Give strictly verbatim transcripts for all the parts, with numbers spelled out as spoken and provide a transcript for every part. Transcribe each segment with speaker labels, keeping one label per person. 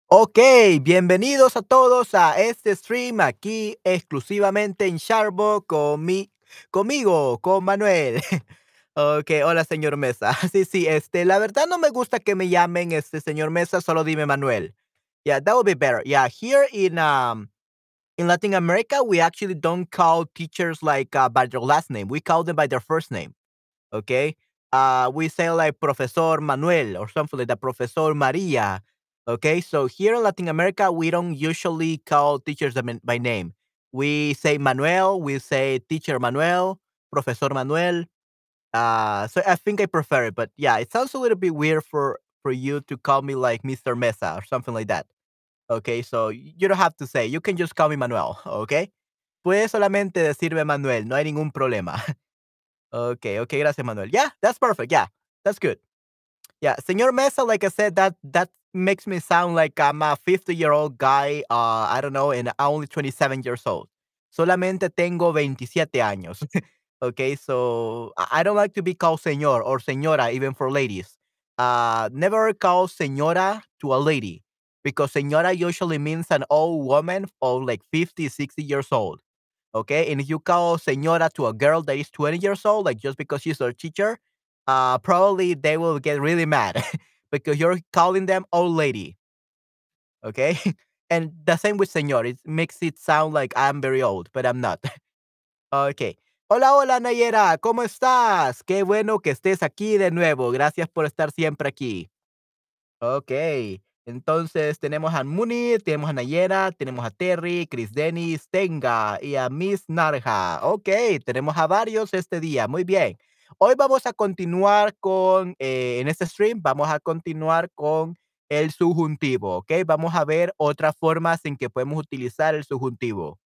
Speaker 1: Ok, bienvenidos a todos a este stream aquí exclusivamente en Sharbo con mi, conmigo, con Manuel. Ok, hola señor Mesa. Sí, sí, este, la verdad no me gusta que me llamen este señor Mesa, solo dime Manuel. Yeah, that would be better. Yeah, here in um in Latin America, we actually don't call teachers like uh, by their last name. We call them by their first name. Okay. Uh, we say like Professor Manuel or something like that, Professor Maria. Okay. So here in Latin America, we don't usually call teachers them by name. We say Manuel, we say Teacher Manuel, Professor Manuel. Uh, so I think I prefer it, but yeah, it sounds a little bit weird for for you to call me like Mister Mesa or something like that. Okay, so you don't have to say, you can just call me Manuel, okay? Puedes solamente decirme Manuel, no hay ningún problema. Okay, okay, gracias, Manuel. Yeah, that's perfect. Yeah, that's good. Yeah, Señor Mesa, like I said, that that makes me sound like I'm a fifty-year-old guy. Uh, I don't know, and I'm only twenty-seven years old. Solamente tengo veintisiete años. Okay, so I I don't like to be called señor or señora, even for ladies. Uh, never call señora to a lady because señora usually means an old woman of like fifty, sixty years old. Okay. And if you call señora to a girl that is twenty years old, like just because she's a teacher, uh, probably they will get really mad because you're calling them old lady. Okay. And the same with señor. It makes it sound like I'm very old, but I'm not. Okay. Hola, hola, Nayera. ¿Cómo estás? Qué bueno que estés aquí de nuevo. Gracias por estar siempre aquí. Okey. Entonces, tenemos a Munir, tenemos a Nayera, tenemos a Terry, Chris Dennis, Tenga y a Miss Narja. Okey, tenemos a varios este día, muy bien. Hoy vamos a continuar con, eh, en este stream, vamos a continuar con el subjuntivo, ¿okey? Vamos a ver otras formas en que podemos utilizar el subjuntivo.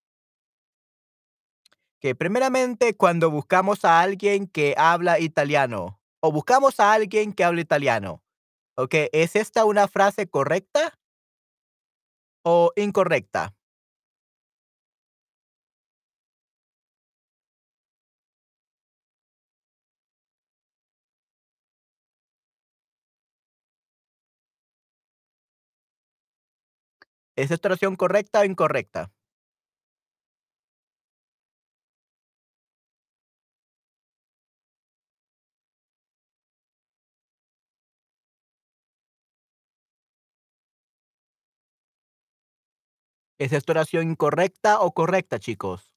Speaker 1: Que primeramente, cuando buscamos a alguien que habla italiano, o buscamos a alguien que habla italiano, okey, ¿es esta una frase correcta o incorrecta? ¿Es esta oración correcta o incorrecta? ¿Es esta oración incorrecta o correcta, chicos?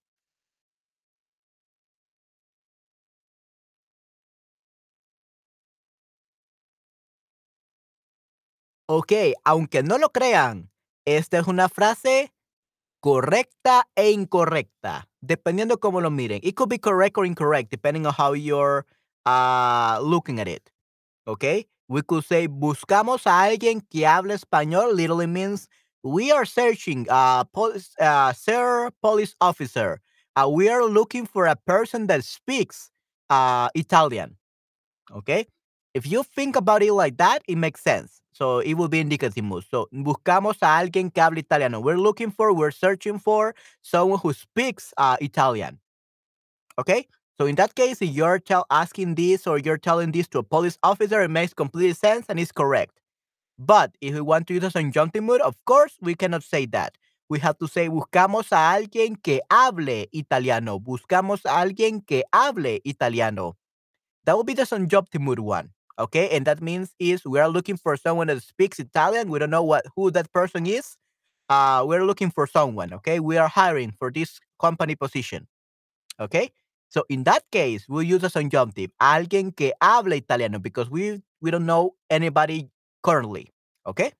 Speaker 1: Okey, aunque no lo crean, esta es una frase correcta e incorrecta, dependiendo cómo lo miren. It could be correct or incorrect, depending on how you're, ah, looking at it, okey? We could say, buscamos a alguien que hable español, literally means we are searching, uh, police uh, sir police officer, uh, we are looking for a person that speaks, uh, Italian. Okay. If you think about it like that, it makes sense. So it will be indicative mood. So buscamos a alguien que hable italiano. We're looking for, we're searching for someone who speaks uh, Italian. Okay. So in that case, if you're tell, asking this or you're telling this to a police officer, it makes complete sense and is correct. But if we want to use a subjunctive mood, of course, we cannot say that. We have to say buscamos a alguien que hable italiano. Buscamos a alguien que hable italiano. That would be the subjunctive mood one. Okay, and that means is we are looking for someone that speaks Italian. We don't know what who that person is. Uh, we're looking for someone. Okay, we are hiring for this company position. Okay, so in that case, we'll use a subjunctive. Alguien que habla italiano because we we don't know anybody currently. Okay.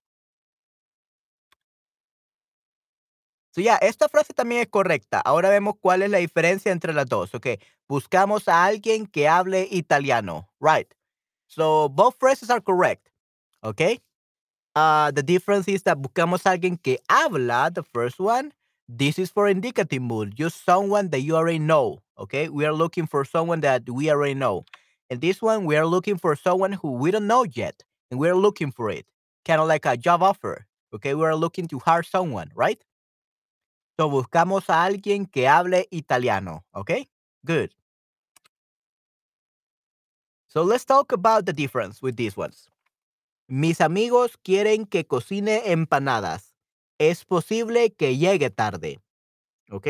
Speaker 1: So yeah, esta frase también es correcta. Ahora vemos cuál es la diferencia entre las dos. Okay, buscamos a alguien que hable italiano. Right. So both phrases are correct. Okay. Uh, the difference is that buscamos a alguien que habla, the first one. This is for indicative mood, just someone that you already know. Okay. We are looking for someone that we already know. And this one, we are looking for someone who we don't know yet. And we're looking for it. Kind of like a job offer. Okay. We are looking to hire someone, right? So buscamos a alguien que hable italiano. Okay. Good. So let's talk about the difference with these ones. Mis amigos quieren que cocine empanadas. Es posible que llegue tarde. ¿Ok?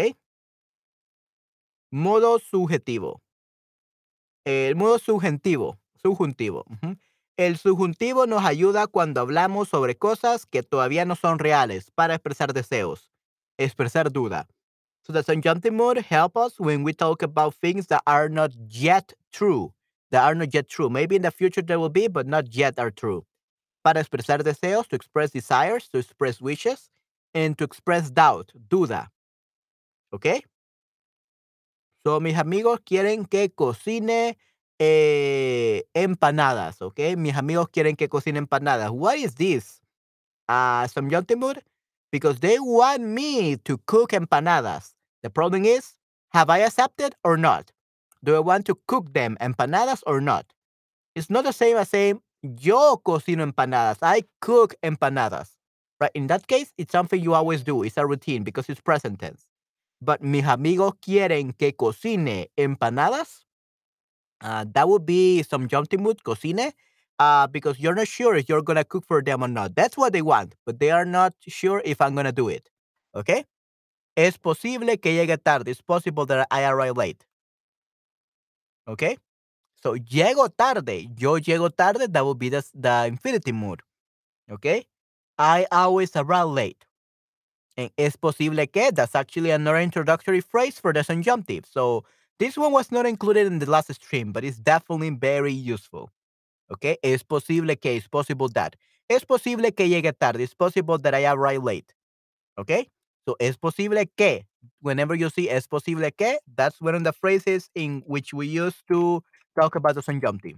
Speaker 1: Modo subjetivo. El modo subjuntivo. Subjuntivo. Ujú. El subjuntivo nos ayuda cuando hablamos sobre cosas que todavía no son reales para expresar deseos, expresar duda. So the subjunctive mood help us when we talk about things that are not yet true, that are not yet true. Maybe in the future there will be, but not yet are true. Para expresar deseos, to express desires, to express wishes, and to express doubt, duda. ¿Ok? So, mis amigos quieren que cocine eh, empanadas, ¿ok? Mis amigos quieren que cocine empanadas. What is this? Uh, some mood? Because they want me to cook empanadas. The problem is, have I accepted or not? Do I want to cook them empanadas or not? It's not the same as saying, yo cocino empanadas. I cook empanadas. Right? In that case, it's something you always do. It's a routine because it's present tense. But mis amigos quieren que cocine empanadas. Uh, that would be some jumping mood, cocine, uh, because you're not sure if you're gonna cook for them or not. That's what they want, but they are not sure if I'm gonna do it. Okay? Es posible que llegue tarde. It's possible that I arrive late. Okay? So, llego tarde. Yo llego tarde. That would be the, the infinity mood. Okay? I always arrive late. And es posible que, that's actually another introductory phrase for the subjunctive. So this one was not included in the last stream, but it's definitely very useful. Okay? Es posible que, it's possible that. Es posible que llegue tarde. It's possible that I arrive late. Okay? So es posible que, whenever you see es posible que, that's one of the phrases in which we use to talk about the subjunctive.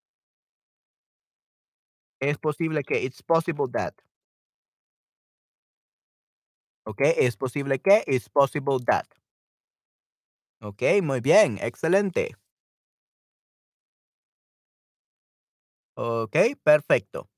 Speaker 1: Es posible que, it's possible that. Okay? Es posible que, it's possible that. Okay, muy bien, excelente. Ok, perfecto.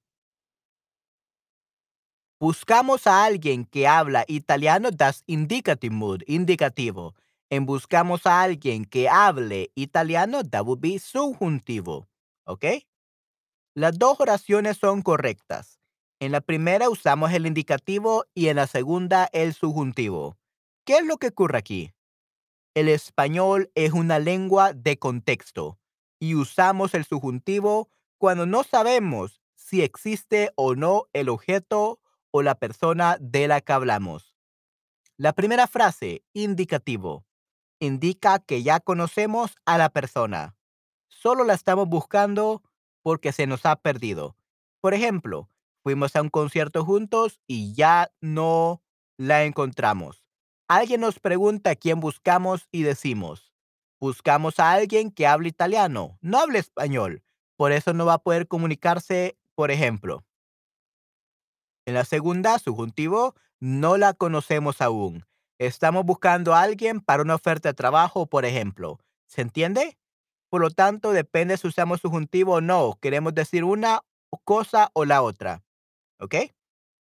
Speaker 1: Buscamos a alguien que habla italiano, das indicative mood, indicativo. En buscamos a alguien que hable italiano, that would be subjuntivo. ¿Ok? Las dos oraciones son correctas. En la primera usamos el indicativo y en la segunda el subjuntivo. ¿Qué es lo que ocurre aquí? El español es una lengua de contexto y usamos el subjuntivo cuando no sabemos si existe o no el objeto o la persona de la que hablamos. La primera frase, indicativo, indica que ya conocemos a la persona. Solo la estamos buscando porque se nos ha perdido. Por ejemplo, fuimos a un concierto juntos y ya no la encontramos. Alguien nos pregunta a quién buscamos y decimos, buscamos a alguien que hable italiano, no hable español. Por eso no va a poder comunicarse, por ejemplo. En la segunda, subjuntivo, no la conocemos aún. Estamos buscando a alguien para una oferta de trabajo, por ejemplo. ¿Se entiende? Por lo tanto, depende si usamos subjuntivo o no. Queremos decir una cosa o la otra. ¿Ok?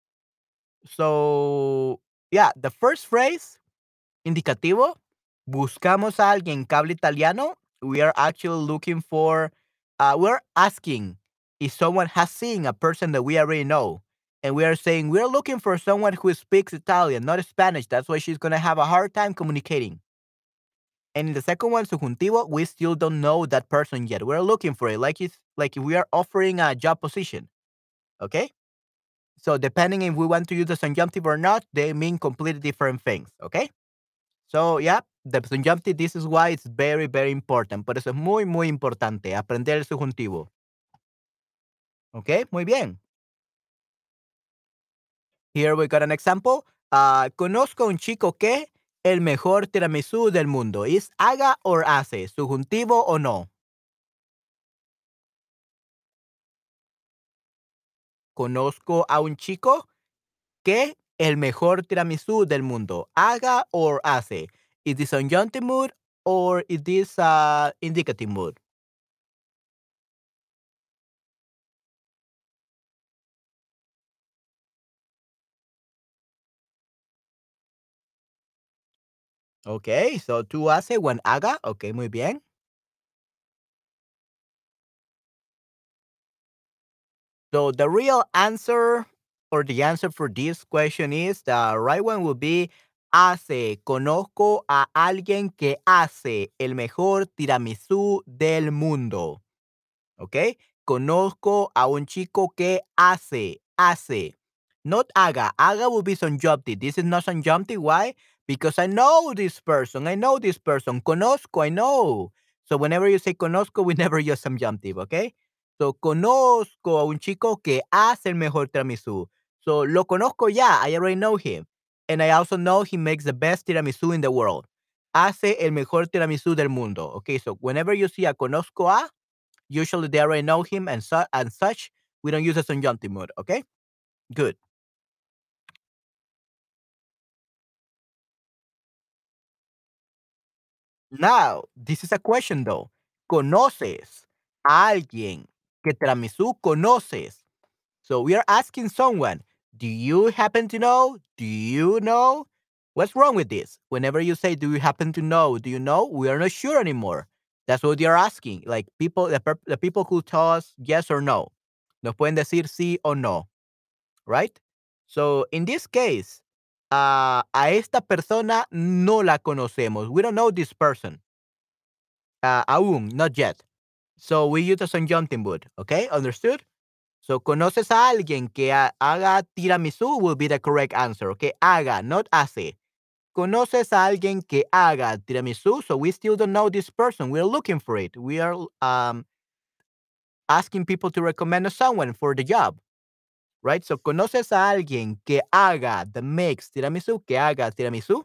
Speaker 1: So, yeah, the first phrase, indicativo, buscamos a alguien que hable italiano. We are actually looking for, uh, we're asking if someone has seen a person that we already know. And we are saying we're looking for someone who speaks Italian, not Spanish. That's why she's going to have a hard time communicating. And in the second one, subjuntivo, we still don't know that person yet. We're looking for it, like it's like if we are offering a job position. Okay. So depending if we want to use the subjunctive or not, they mean completely different things. Okay. So yeah, the subjunctive. This is why it's very very important. Por eso es muy muy importante aprender el subjuntivo. Okay. Muy bien. Here we got an example. Ah, conozco a un chico que el mejor tiramisú del mundo. ¿Es haga o hace? ¿Subjuntivo o no? Conozco a un chico que el mejor tiramisú del mundo. ¿Haga o hace? Is this subjunctive mood or is this uh, indicative mood? Okay, so tú hace when haga. Okay, muy bien. So the real answer or the answer for this question is the right one will be hace. Conozco a alguien que hace el mejor tiramisú del mundo. ¿Ok? Conozco a un chico que hace, hace. Not haga. Haga will be subjunctive. This is not subjunctive. Why? Because I know this person. I know this person. Conozco, I know. So whenever you say conozco, we never use subjunctive, okay? So conozco a un chico que hace el mejor tiramisú. So lo conozco ya. I already know him. And I also know he makes the best tiramisú in the world. Hace el mejor tiramisú del mundo. Okay, so whenever you see a conozco a, usually they already know him and, su- and such. We don't use a subjunctive mood, okay? Good. Now, this is a question though. ¿Conoces a alguien que tiramisú conoces? So we are asking someone, do you happen to know? Do you know? What's wrong with this? Whenever you say, do you happen to know? Do you know? We are not sure anymore. That's what you're asking. Like people, the, per- the people who tell us yes or no. Nos pueden decir sí o no, right? So in this case, uh, a esta persona no la conocemos. We don't know this person. Uh, aún, not yet. So we use the subjunctive mood. Okay, understood? So, conoces a alguien que ha- haga tiramisú will be the correct answer. Okay, haga, not hace. Conoces a alguien que haga tiramisú. So we still don't know this person. We're looking for it. We are um, asking people to recommend us someone for the job, right? So, conoces a alguien que haga the mix tiramisú, que haga tiramisú.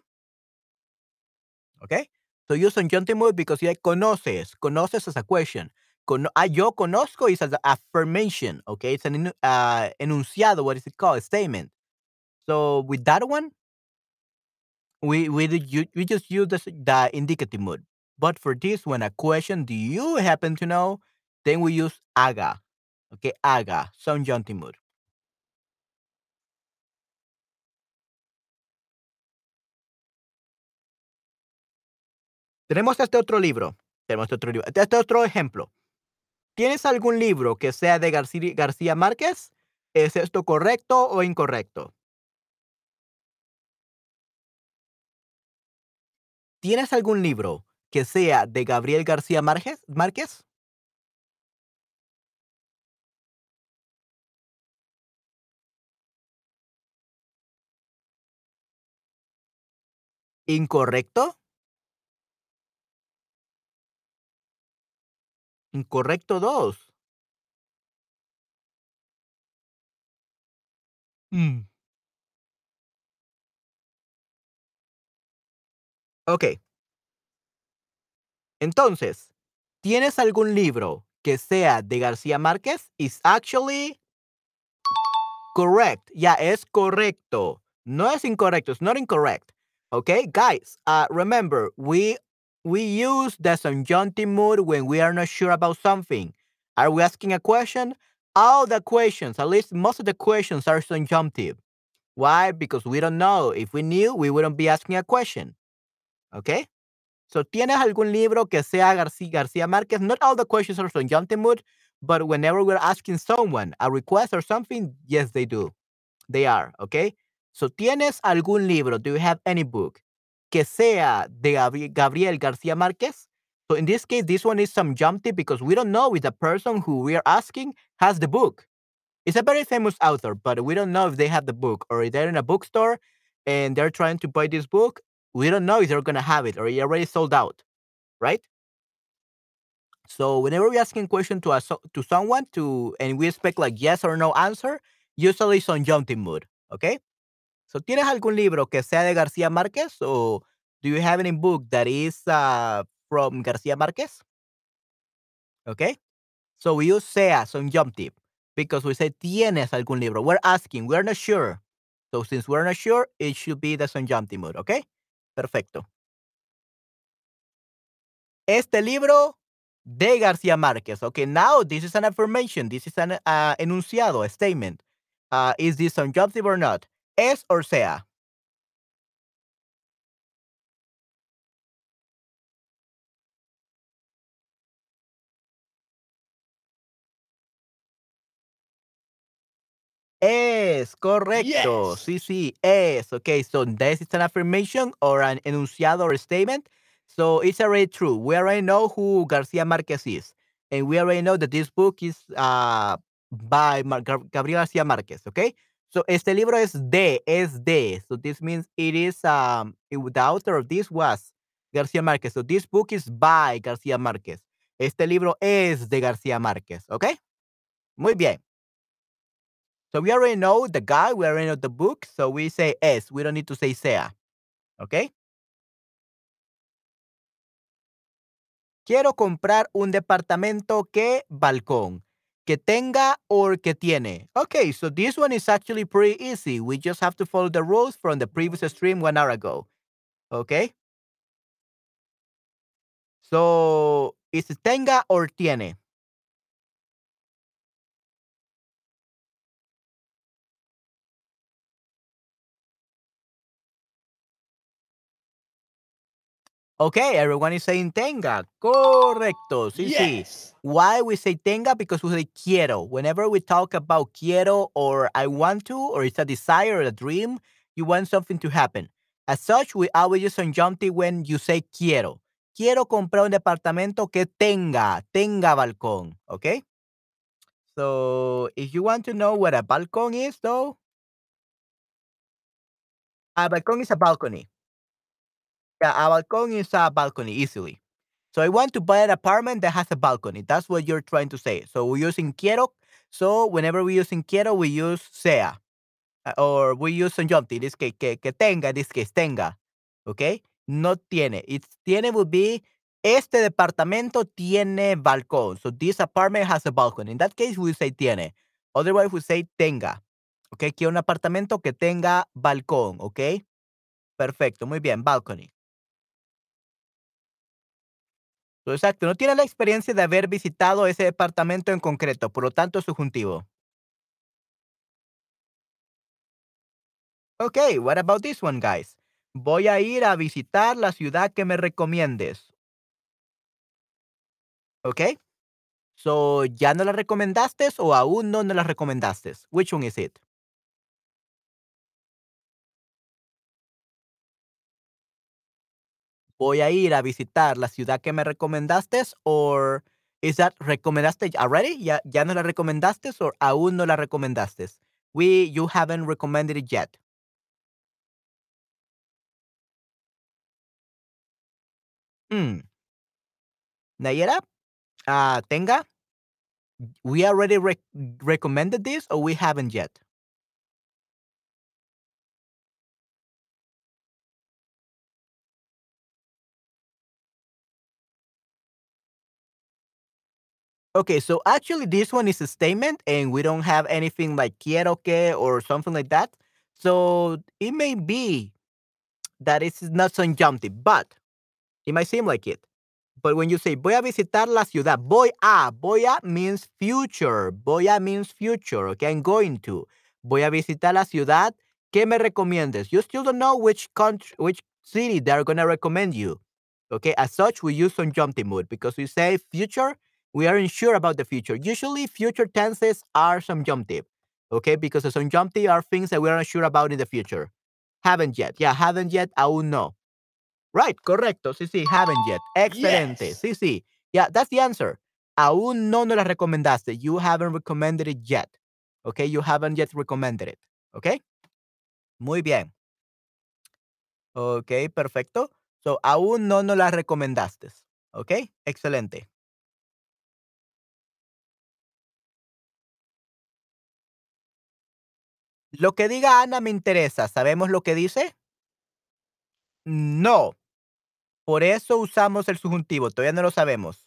Speaker 1: Okay. So use subjunctive mood because yeah, conoces. Conoces as a question. Cono- ah, yo conozco is as an affirmation. Okay. It's an enu- uh, enunciado. What is it called? A statement. So with that one, we we did u- we just use the, s- the indicative mood. But for this one, a question, do you happen to know? Then we use haga. Okay, haga, subjunctive mood. Tenemos este otro libro. Tenemos este otro libro. Este otro ejemplo. ¿Tienes algún libro que sea de Garci- García Márquez? ¿Es esto correcto o incorrecto? ¿Tienes algún libro que sea de Gabriel García Márquez? Márquez? ¿Incorrecto? Incorrecto dos. Mm. Ok, entonces, ¿tienes algún libro que sea de García Márquez? Is actually correct. Yeah, es correcto. No es incorrecto. It's not incorrect. Okay, guys. Uh, remember, we we use the subjunctive mood when we are not sure about something. Are we asking a question? All the questions, at least most of the questions, are subjunctive. Why? Because we don't know. If we knew, we wouldn't be asking a question. Okay. So, ¿tienes algún libro que sea García, García Márquez? Not all the questions are subjunctive mood, but whenever we're asking someone a request or something, yes, they do. They are, okay? So, ¿tienes algún libro? Do you have any book que sea de Gabri- Gabriel García Márquez? So, in this case, this one is subjunctive because we don't know if the person who we are asking has the book. It's a very famous author, but we don't know if they have the book or if they're in a bookstore and they're trying to buy this book. We don't know if they're going to have it or it already sold out, right? So, whenever we're asking question to us to someone to and we expect like yes or no answer, usually it's on jumping mood, okay? So, ¿tienes algún libro que sea de García Márquez o do you have any book that is uh, from García Márquez? Okay? So, we use sea subjunctive because we say tienes algún libro. We're asking, we're not sure. So, since we're not sure, it should be the subjunctive mood, okay? Perfecto. Este libro de García Márquez. Okay, now this is an affirmation. This is an uh, enunciado, a statement. Uh, is this subjunctive or not? Es or sea. Es, correcto.
Speaker 2: Yes.
Speaker 1: Sí, sí, es. Okay, so this is an affirmation or an enunciado or statement. So it's already true. We already know who Garcia Marquez is. And we already know that this book is uh, by Mar- Gab- Gabriel Garcia Marquez. Okay. So este libro es de, es de. So this means it is, um, it- the author of this was Garcia Marquez. So this book is by Garcia Marquez. Este libro es de Garcia Márquez. Okay. Muy bien. So we already know the guy, we already know the book, so we say es. We don't need to say sea. Okay. Quiero comprar un departamento que balcón. Que tenga or que tiene. Okay, so this one is actually pretty easy. We just have to follow the rules from the previous stream one hour ago. Okay. So is tenga or tiene? Okay, everyone is saying tenga. Correcto. Sí, sí.
Speaker 2: Yes.
Speaker 1: Why we say tenga? Because we say quiero. Whenever we talk about quiero or I want to, or it's a desire or a dream, you want something to happen. As such, we always use subjunctive when you say quiero. Quiero comprar un departamento que tenga, tenga balcón. Okay? So, if you want to know what a balcón is, though, a balcón is a balcony. Yeah, a balcón is a balcony, easily. So I want to buy an apartment that has a balcony. That's what you're trying to say. So we're using quiero. So whenever we're using quiero, we use sea. uh, Or we use subjunctive. This case, que, que tenga, this case, tenga. Okay? No tiene. It's tiene would be este departamento tiene balcón. So this apartment has a balcony. In that case, we say tiene. Otherwise, we say tenga. Okay? Quiero un apartamento que tenga balcón. Okay? Perfecto. Muy bien. Balcony. So, exacto, no tiene la experiencia de haber visitado ese departamento en concreto, por lo tanto, subjuntivo. Okay, what about this one, guys? Voy a ir a visitar la ciudad que me recomiendes. Okay? So, ¿ya no la recomendaste o aún no no la recomendaste? Which one is it? Voy a ir a visitar la ciudad que me recomendaste or is that recomendaste already? ¿Ya, ya no la recomendaste o aún no la recomendaste? We, you haven't recommended it yet. Hmm. Nayera, ah, tenga. We already rec- recommended this or we haven't yet? Okay, so actually this one is a statement and we don't have anything like quiero que or something like that. So it may be that it's not subjunctive, but it might seem like it. But when you say voy a visitar la ciudad, voy a, voy a means future. Voy a means future. Okay, I'm going to. Voy a visitar la ciudad. ¿Qué me recomiendes? You still don't know which country, which city they're gonna recommend you. Okay, as such, we use subjunctive mood because we say future. We aren't sure about the future. Usually, future tenses are subjunctive. Okay, because the subjunctive are things that we aren't sure about in the future. Haven't yet. Yeah, haven't yet. Aún no. Right, correcto. Sí, sí, haven't yet. Excelente.
Speaker 2: Yes.
Speaker 1: Sí, sí. Yeah, that's the answer. Aún no nos la recomendaste. You haven't recommended it yet. Okay, you haven't yet recommended it. Okay, muy bien. Okay, perfecto. So, aún no nos la recomendaste. Okay, excelente. Lo que diga Ana me interesa. ¿Sabemos lo que dice? No. Por eso usamos el subjuntivo. Todavía no lo sabemos.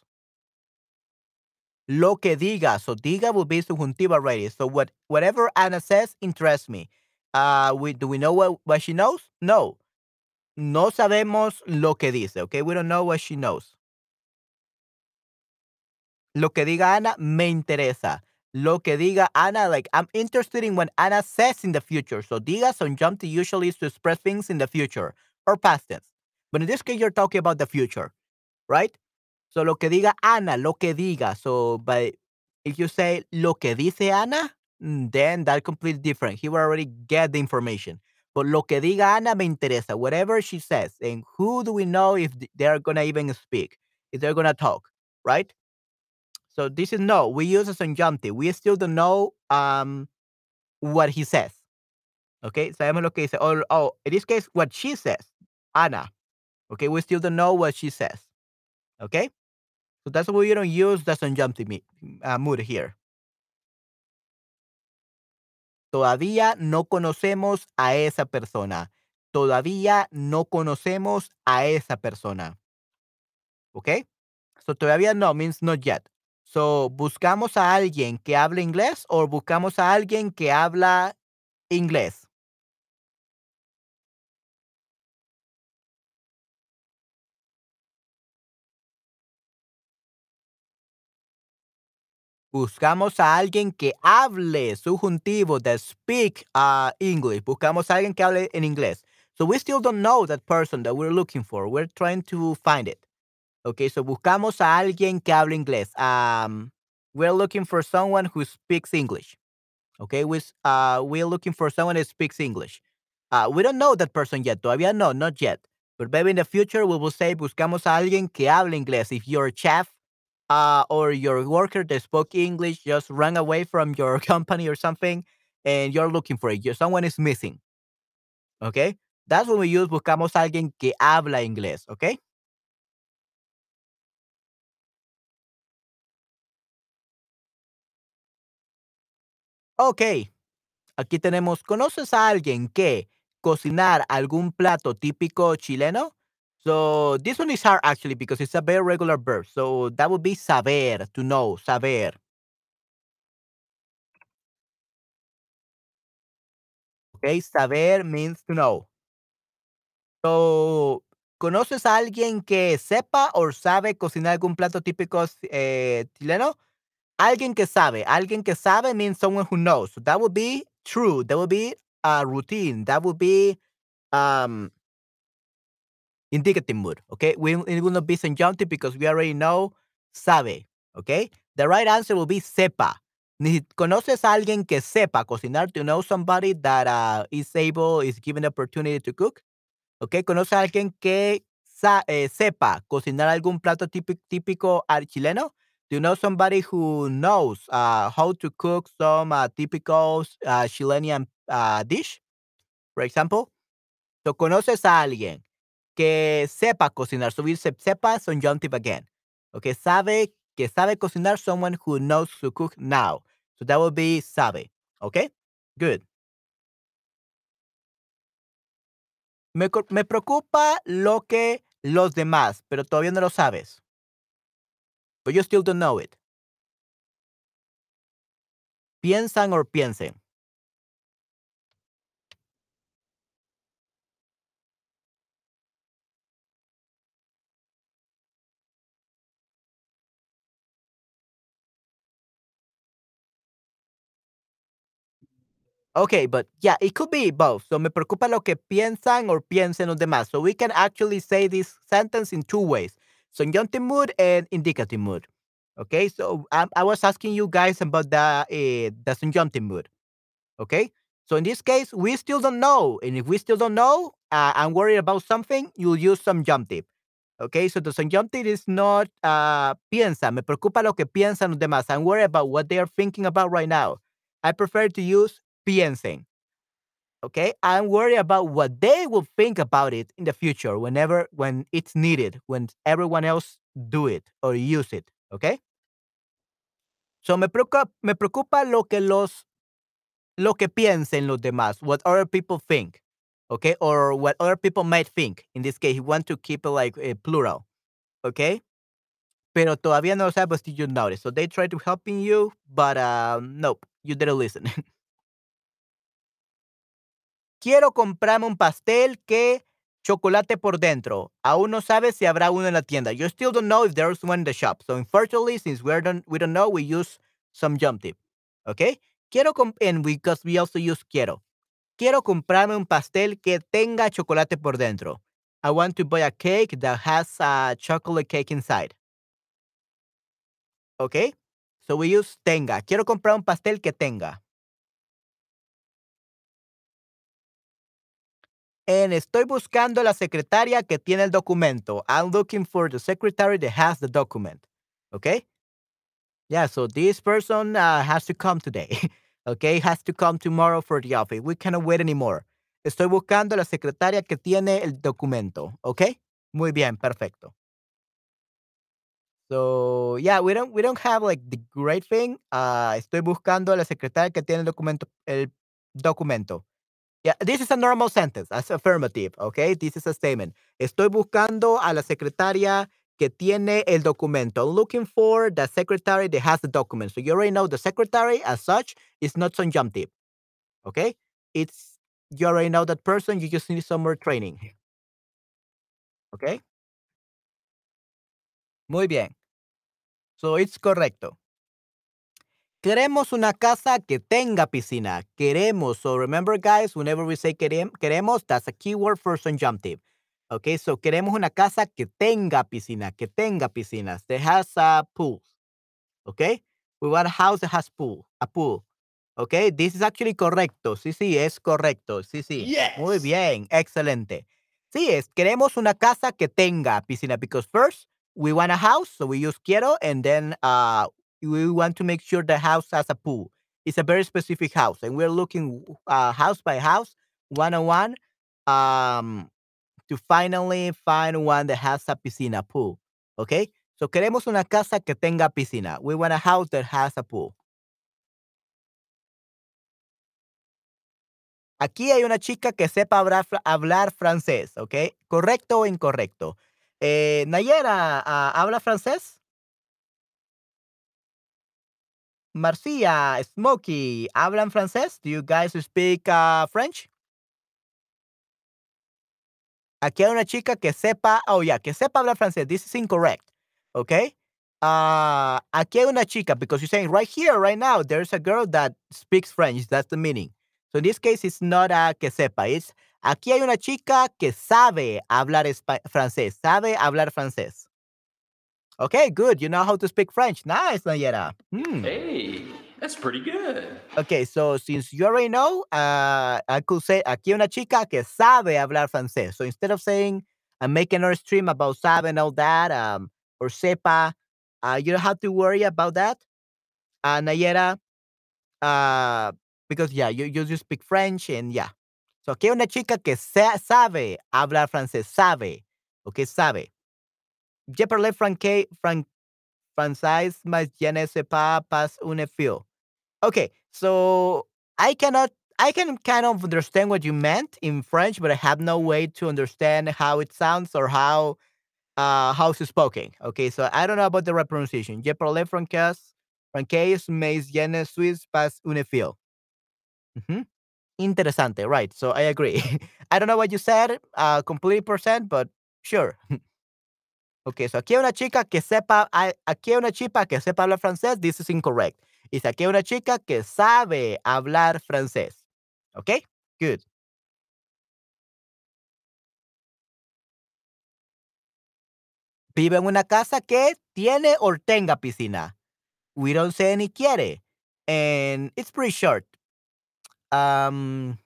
Speaker 1: Lo que diga. So diga will be subjuntivo already. So what whatever Anna says interests me. Uh, we, do we know what, what she knows? No. No sabemos lo que dice. Okay, we don't know what she knows. Lo que diga Ana me interesa. Lo que diga Ana, like I'm interested in what Anna says in the future. So diga subjunctive usually is to express things in the future or past tense. But in this case, you're talking about the future, right? So lo que diga Ana, lo que diga. So, by if you say lo que dice Ana, mm, then that completely different. He will already get the information. But lo que diga Ana me interesa. Whatever she says. And who do we know if th- they're gonna even speak? If they're gonna talk, right? So this is no. We use a subjunctive. We still don't know um what he says. Okay, sabemos lo que dice. Or, oh, in this case, what she says, Ana. Okay, we still don't know what she says. Okay, so that's why we don't use the subjunctive me- uh, mood here. Todavía no conocemos a esa persona. Todavía no conocemos a esa persona. Okay, so todavía no means not yet. So, ¿buscamos a alguien que hable inglés o buscamos a alguien que habla inglés? Buscamos a alguien que hable, subjuntivo, that speak uh, English. Buscamos a alguien que hable en inglés. So we still don't know that person that we're looking for. We're trying to find it. Okay, so buscamos a alguien que hable inglés. Um, we're looking for someone who speaks English. Okay, we, s- uh, we're looking for someone that speaks English. Uh, we don't know that person yet. Todavía no, not yet. But maybe in the future we will say buscamos a alguien que hable inglés. If you're a chef uh, or your worker that spoke English just ran away from your company or something, and you're looking for it. You- Someone is missing. Okay, that's when we use buscamos a alguien que habla inglés. Okay. Okay. Aquí tenemos, ¿conoces a alguien que cocinar algún plato típico chileno? So this one is hard actually because it's a very regular verb. So that would be saber, to know, saber. Okay, saber means to know. So, ¿conoces a alguien que sepa o sabe cocinar algún plato típico eh, chileno? Alguien que sabe. Alguien que sabe means someone who knows. So that would be true. That would be a routine. That would be um indicative mood, okay? We, it will not be subjunctive because we already know sabe, okay? The right answer will be sepa. Ni- ¿Conoces a alguien que sepa cocinar? Do you know somebody that uh, is able, is given the opportunity to cook? Okay, ¿conoces a alguien que sa- eh, sepa cocinar algún plato típico, típico ah, chileno? Do you know somebody who knows uh, how to cook some uh, typical uh, Chilean uh, dish, for example? So, ¿conoces a alguien que sepa cocinar? So, we se- sepa subjunctive again. Okay, sabe, que sabe cocinar, someone who knows to cook now. So, that would be sabe. Okay, good. Me, co- me preocupa lo que los demás, pero todavía no lo sabes. But you still don't know it. Piensan or piensen. Okay, but yeah, it could be both. So me preocupa lo que piensan or piensen los demás. So we can actually say this sentence in two ways. Subjunctive mood and indicative mood. Okay, so um, I was asking you guys about the uh, the subjunctive mood. Okay, so in this case, we still don't know, and if we still don't know, uh, I'm worried about something. You'll use subjunctive. Okay, so the subjunctive is not uh, piensa. Me preocupa lo que piensan los demás. I'm worried about what they are thinking about right now. I prefer to use piensen. Okay, I'm worried about what they will think about it in the future, whenever when it's needed, when everyone else do it or use it. Okay, so me preocupa, me preocupa lo que los lo que piensen los demás, what other people think. Okay, or what other people might think. In this case, you want to keep it like a plural. Okay, pero todavía no lo sabes, did you notice? So they try to helping you, but um, nope, you didn't listen. Quiero comprarme un pastel que chocolate por dentro. Aún no sabes si habrá uno en la tienda. You still don't know if there's one in the shop. So unfortunately, since we don't we don't know, we use some jump tip. Okay? Quiero comp and we, because we also use quiero. Quiero comprarme un pastel que tenga chocolate por dentro. I want to buy a cake that has a chocolate cake inside. Okay? So we use tenga. Quiero comprar un pastel que tenga. And estoy buscando la secretaria que tiene el documento. I'm looking for the secretary that has the document. Okay? Yeah, so this person uh, has to come today. Okay, has to come tomorrow for the office. We cannot wait anymore. Estoy buscando la secretaria que tiene el documento. Okay? Muy bien, perfecto. So yeah, we don't we don't have like the great thing. Uh, estoy buscando a la secretaria que tiene el documento. El documento. Yeah, this is a normal sentence, as affirmative, okay? This is a statement. Estoy buscando a la secretaria que tiene el documento. Looking for the secretary that has the document. So you already know the secretary as such is not subjunctive, okay? It's you already know that person. You just need some more training, okay? Muy bien. So it's correcto. Queremos una casa que tenga piscina. Queremos. So remember, guys, whenever we say querem- queremos, that's a keyword for subjunctive. Okay, so queremos una casa que tenga piscina, que tenga piscinas, that has a pool. Okay, we want a house that has pool, a pool. Okay, this is actually correcto. Sí, sí, es correcto. Sí, sí. Muy
Speaker 2: Yes.
Speaker 1: bien, excelente. Sí, es queremos una casa que tenga piscina because first we want a house, so we use quiero, and then uh we want to make sure the house has a pool. It's a very specific house, and we're looking uh house by house, one on one, um, to finally find one that has a piscina pool. Okay, so queremos una casa que tenga piscina. We want a house that has a pool. Aquí hay una chica que sepa hablar, fra- hablar francés, ¿ok? ¿Correcto o incorrecto? Eh, Nayera, ah, ¿habla francés? Marcia, Smokey, ¿hablan francés? Do you guys speak uh, French? Aquí hay una chica que sepa, oh yeah, que sepa hablar francés. This is incorrect, ¿ok? Ah, aquí hay una chica, because you're saying right here, right now, there's a girl that speaks French. That's the meaning. So in this case, it's not a que sepa. It's aquí hay una chica que sabe hablar espa- francés. Sabe hablar francés. Okay, good. You know how to speak French. Nice, Nayera. Hmm.
Speaker 2: Hey, that's pretty good.
Speaker 1: Okay, so since you already know, uh, I could say aquí hay una chica que sabe hablar francés. So instead of saying I'm making another stream about sabe and all that, um, or sepa, uh, you don't have to worry about that. Uh, Nayera, uh, because yeah, you, you just speak French and yeah. So aquí hay una chica que sa- sabe hablar francés, sabe, okay, sabe. Je parle franque, fran, français, mais je ne sais pas pas un fil. Okay, so I cannot I can kind of understand what you meant in French, but I have no way to understand how it sounds or how uh how it's spoken. Okay, so I don't know about the right pronunciation. Je parle français, français, mais je ne suis pas un fil. Mhm. Interesante, right? So I agree. I don't know what you said, uh, complete percent, but sure. Okay, so aquí hay una chica que sepa, hay- aquí hay una chica que sepa hablar francés. This is incorrect. Dice aquí hay una chica que sabe hablar francés. Okay, good. Vive en una casa que tiene or tenga piscina. We don't say ni quiere, and it's pretty short. Um,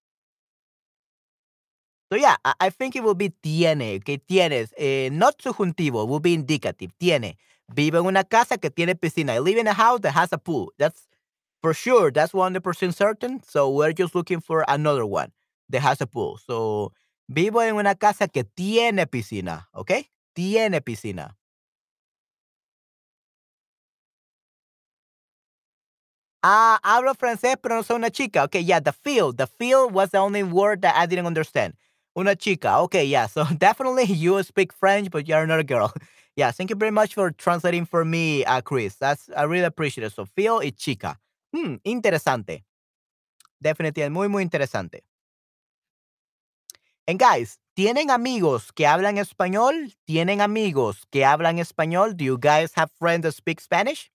Speaker 1: So yeah, I, I think it will be tiene, que tienes, eh, not subjuntivo, will be indicative, tiene. Vive en una casa que tiene piscina. I live in a house that has a pool. That's for sure. That's one hundred percent certain. So we're just looking for another one that has a pool. So vivo en una casa que tiene piscina, okay? Tiene piscina. Ah, hablo francés, pero no soy una chica. Okay, yeah, the feel. The feel was the only word that I didn't understand. Una chica. Okay, yeah. So definitely you speak French, but you're not a girl. Yeah, thank you very much for translating for me, uh, Chris. That's I really appreciate it. So feel y chica. Hmm, interesante. Definitivamente muy, muy interesante. And guys, ¿tienen amigos que hablan español? ¿Tienen amigos que hablan español? Do you guys have friends that speak Spanish?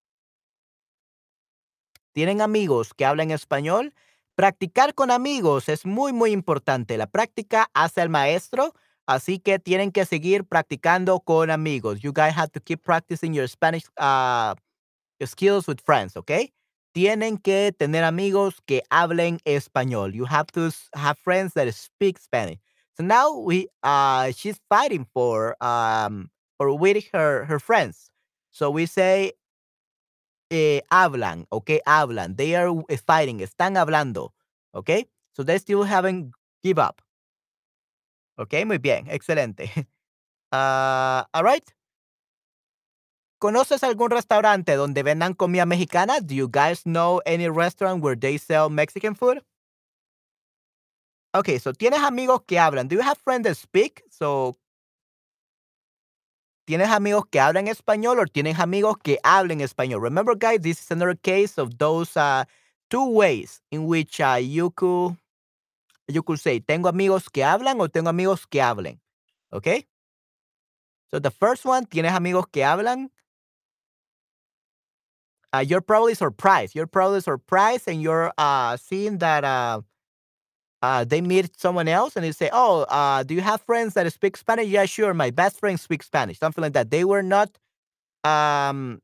Speaker 1: ¿Tienen amigos que hablan español? Practicar con amigos es muy, muy importante. La práctica hace al maestro, así que tienen que seguir practicando con amigos. You guys have to keep practicing your Spanish uh, skills with friends, okay? tienen que tener amigos que hablen español. You have to s- have friends that speak Spanish. So now we uh she's fighting for um for with her her friends. So we say eh, hablan, okay, hablan. They are uh, fighting, están hablando, okay? So they still haven't give up. Okay, muy bien, excelente. Ah, all right. ¿Conoces algún restaurante donde vendan comida mexicana? Do you guys know any restaurant where they sell Mexican food? Okay, so tienes amigos que hablan. Do you have friends that speak? So, ¿tienes amigos que hablan español o tienes amigos que hablen español? Remember, guys, this is another case of those uh, two ways in which uh, you could you could say, tengo amigos que hablan o tengo amigos que hablen. Okay? So the first one, tienes amigos que hablan. Uh, you're probably surprised. You're probably surprised and you're uh, seeing that uh, uh, they meet someone else and they say, "Oh, uh, do you have friends that speak Spanish?" Yeah, sure. My best friend speaks Spanish. Something like that. They were not. Um,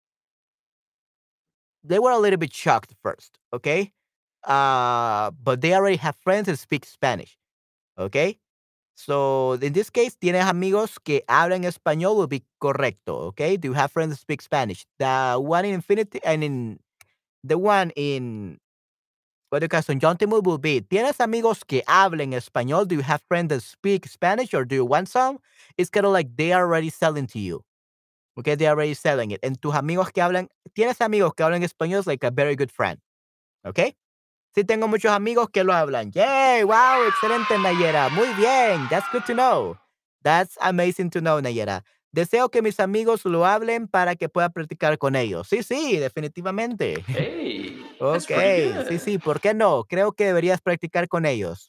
Speaker 1: they were a little bit shocked first. Okay, uh, but they already have friends that speak Spanish. Okay, so in this case, tienes amigos que hablan español will be correcto. Okay, do you have friends that speak Spanish? The one in infinity and in the one in what do you call subjunctive will be, ¿tienes amigos que hablen español? Do you have friends that speak Spanish or do you want some? It's kind of like they are already selling to you. Okay, they are already selling it. And tus amigos que hablan, ¿tienes amigos que hablan español? Is like a very good friend. Okay? Sí, tengo muchos amigos que lo hablan. Yay! Wow, excelente, Nayera. Muy bien. That's good to know. That's amazing to know, Nayera. Deseo que mis amigos lo hablen para que pueda practicar con ellos. Sí, sí, definitivamente.
Speaker 2: Hey, that's pretty
Speaker 1: Okey, sí,
Speaker 2: good.
Speaker 1: sí, ¿por qué no? Creo que deberías practicar con ellos.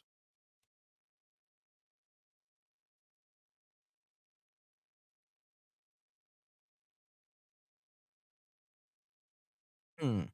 Speaker 1: Mm.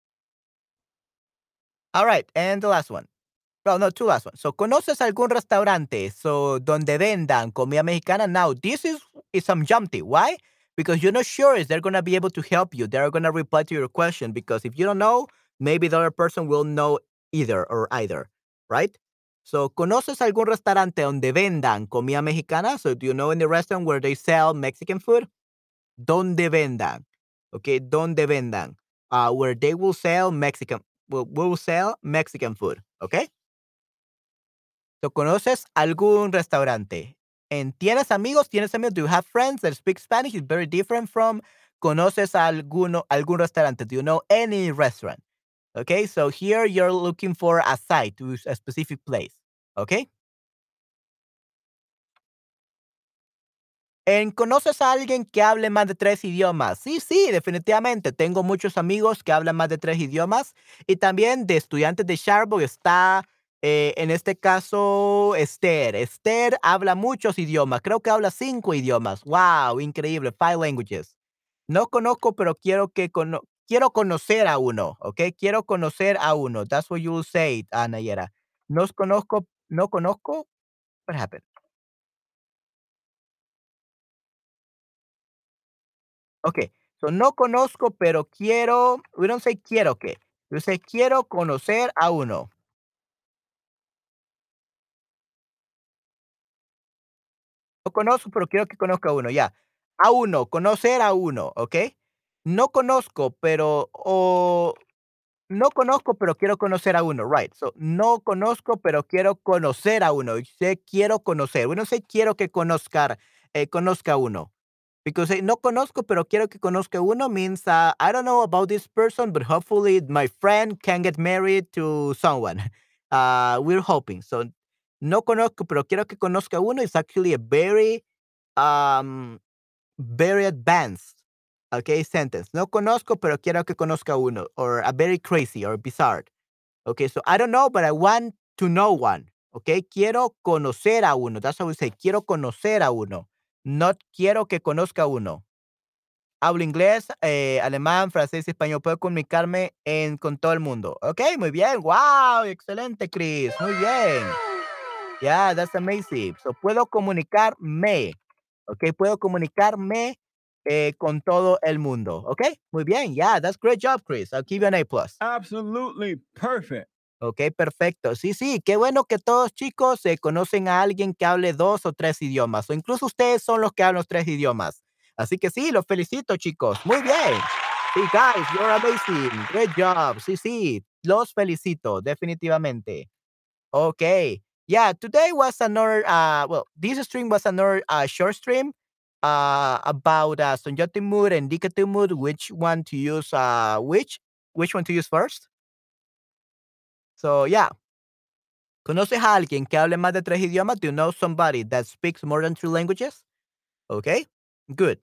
Speaker 1: Alright, and the last one. Well, no, two last ones. So, ¿conoces algún restaurante, so, donde vendan comida mexicana? Now, this is is some jumpy. Why? Because you're not sure if they're gonna be able to help you. They're gonna reply to your question because if you don't know, maybe the other person will know either or either, right? So, ¿conoces algún restaurante donde vendan comida mexicana? So, do you know any restaurant where they sell Mexican food? Donde vendan, okay, donde vendan, uh, where they will sell Mexican will will sell Mexican food, okay. So, ¿conoces algún restaurante? And ¿tienes amigos? ¿Tienes amigos? Do you have friends that speak Spanish? It's very different from ¿conoces alguno algún restaurante? Do you know any restaurant? Okay, so here you're looking for a site, to a specific place, okay. En ¿conoces a alguien que hable más de tres idiomas? Sí, sí, definitivamente. Tengo muchos amigos que hablan más de tres idiomas y también de estudiantes de Sharp está, eh, en este caso, Esther. Esther habla muchos idiomas, creo que habla cinco idiomas. Wow, increíble, five languages. No conozco, pero quiero que cono quiero conocer a uno, ¿ok? Quiero conocer a uno. That's what you will say, ah, Nayera. Nos conozco no conozco what happened? Okay, so no conozco, pero quiero, we don't say quiero que, we say quiero conocer a uno. No conozco, pero quiero que conozca a uno, ya. A uno, conocer a uno, ¿ok? No conozco, pero o no conozco, pero quiero conocer a uno, right? So, no conozco, pero quiero conocer a uno. Y sé quiero conocer. Bueno, sé quiero que conozca, eh, conozca a uno. Because eh, no conozco, pero quiero que conozca uno means uh, I don't know about this person, but hopefully my friend can get married to someone. Uh, we're hoping. So, no conozco, pero quiero que conozca uno is actually a very um, very advanced, okay, sentence. No conozco, pero quiero que conozca uno. Or a very crazy or bizarre. Okay, so I don't know, but I want to know one. Okay, quiero conocer a uno. That's how we say, quiero conocer a uno. Not quiero que conozca uno. Hablo inglés, eh, alemán, francés y español. Puedo comunicarme en, con todo el mundo. Ok, muy bien. Wow, excelente, Chris. Muy bien. Yeah, that's amazing. So, puedo comunicarme. Ok, puedo comunicarme eh, con todo el mundo, ¿ok? Muy bien, yeah, that's great job, Chris. I'll give you an A plus.
Speaker 3: Absolutely perfect.
Speaker 1: Ok, perfecto. Sí, sí, qué bueno que todos chicos eh, conocen a alguien que hable dos o tres idiomas, o incluso ustedes son los que hablan los tres idiomas. Así que sí, los felicito, chicos. Muy bien. Sí, guys, you're amazing. Great job. Sí, sí, los felicito, definitivamente. Okay. Yeah, today was another uh well, this stream was another uh short stream uh about uh Sonjoti mood and Dikatu mood, which one to use uh which which one to use first. So yeah. ¿Conoces a alguien que hable más de tres idiomas? Do you know somebody that speaks more than three languages? Okay. Good.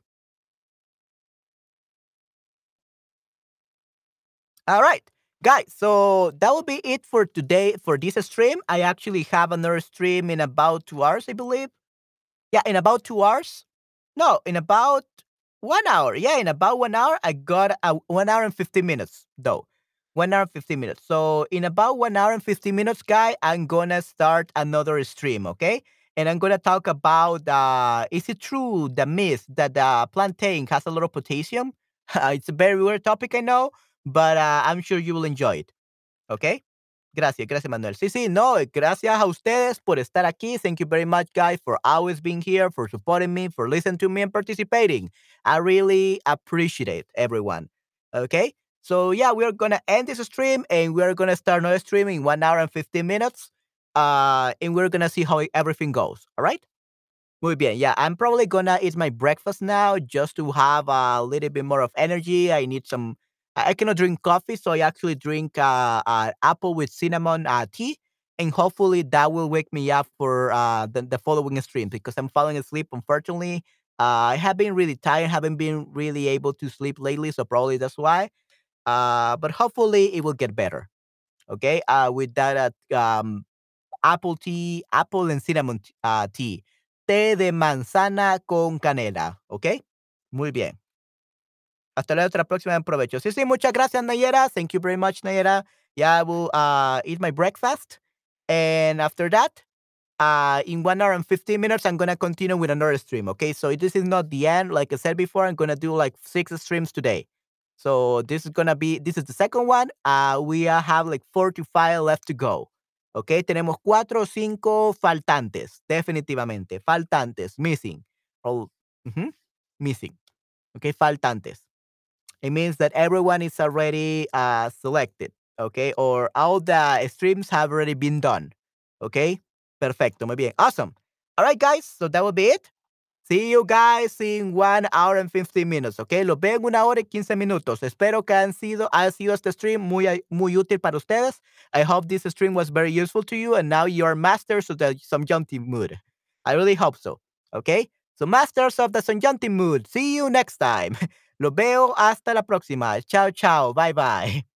Speaker 1: All right. Guys, so that will be it for today for this stream. I actually have another stream in about two hours, I believe. Yeah, in about two hours. No, in about one hour. Yeah, in about one hour, I got a one hour and fifty minutes, though. one hour and fifty minutes. So in about one hour and fifty minutes, guy, I'm gonna start another stream, okay? And I'm gonna talk about uh is it true the myth that the plantain has a lot of potassium? It's a very weird topic, I know, but uh, I'm sure you will enjoy it. Okay? Gracias, gracias, Manuel. Sí, sí, no, eh, gracias a ustedes por estar aquí. Thank you very much, guys, for always being here, for supporting me, for listening to me and participating. I really appreciate it, everyone. Okay? So, yeah, we're going to end this stream and we're going to start another stream in one hour and fifteen minutes. Uh, and we're going to see how everything goes. All right? Muy bien. Yeah, I'm probably gonna eat my breakfast now just to have a little bit more of energy. I need some. I I cannot drink coffee, so I actually drink uh, uh apple with cinnamon uh, tea, and hopefully that will wake me up for uh the, the following stream because I'm falling asleep. Unfortunately, uh, I have been really tired, haven't been really able to sleep lately, so probably that's why. Uh, but hopefully it will get better. Okay. Uh, with that uh, um apple tea, apple and cinnamon t- uh, tea, té de manzana con canela, ¿ok? Muy bien. Hasta luego, hasta la próxima, en provecho. Sí, sí, muchas gracias, Nayera. Thank you very much, Nayera. Yeah, I will uh, eat my breakfast. And after that, uh, in one hour and fifteen minutes, I'm going to continue with another stream. Okay. So this is not the end. Like I said before, I'm going to do like six streams today. So this is going to be, this is the second one. Uh, we uh, have like four to five left to go. Okay. Tenemos cuatro o cinco faltantes. Definitivamente. Faltantes. Missing. Oh, ujú, missing. Okay. Faltantes. It means that everyone is already uh, selected. Okay. Or all the streams have already been done. Okay. Perfecto. Muy bien. Awesome. All right, guys. So that will be it. See you guys in one hour and fifteen minutes, ¿ok? Los veo en una hora y quince minutos. Espero que han sido, haya sido este stream muy, ay- muy útil para ustedes. I hope this stream was very useful to you and now you are masters of the Sonjanti mood. I really hope so, ¿ok? So masters of the Sonjanti mood. See you next time. Los veo hasta la próxima. Chao, chao. Bye, bye.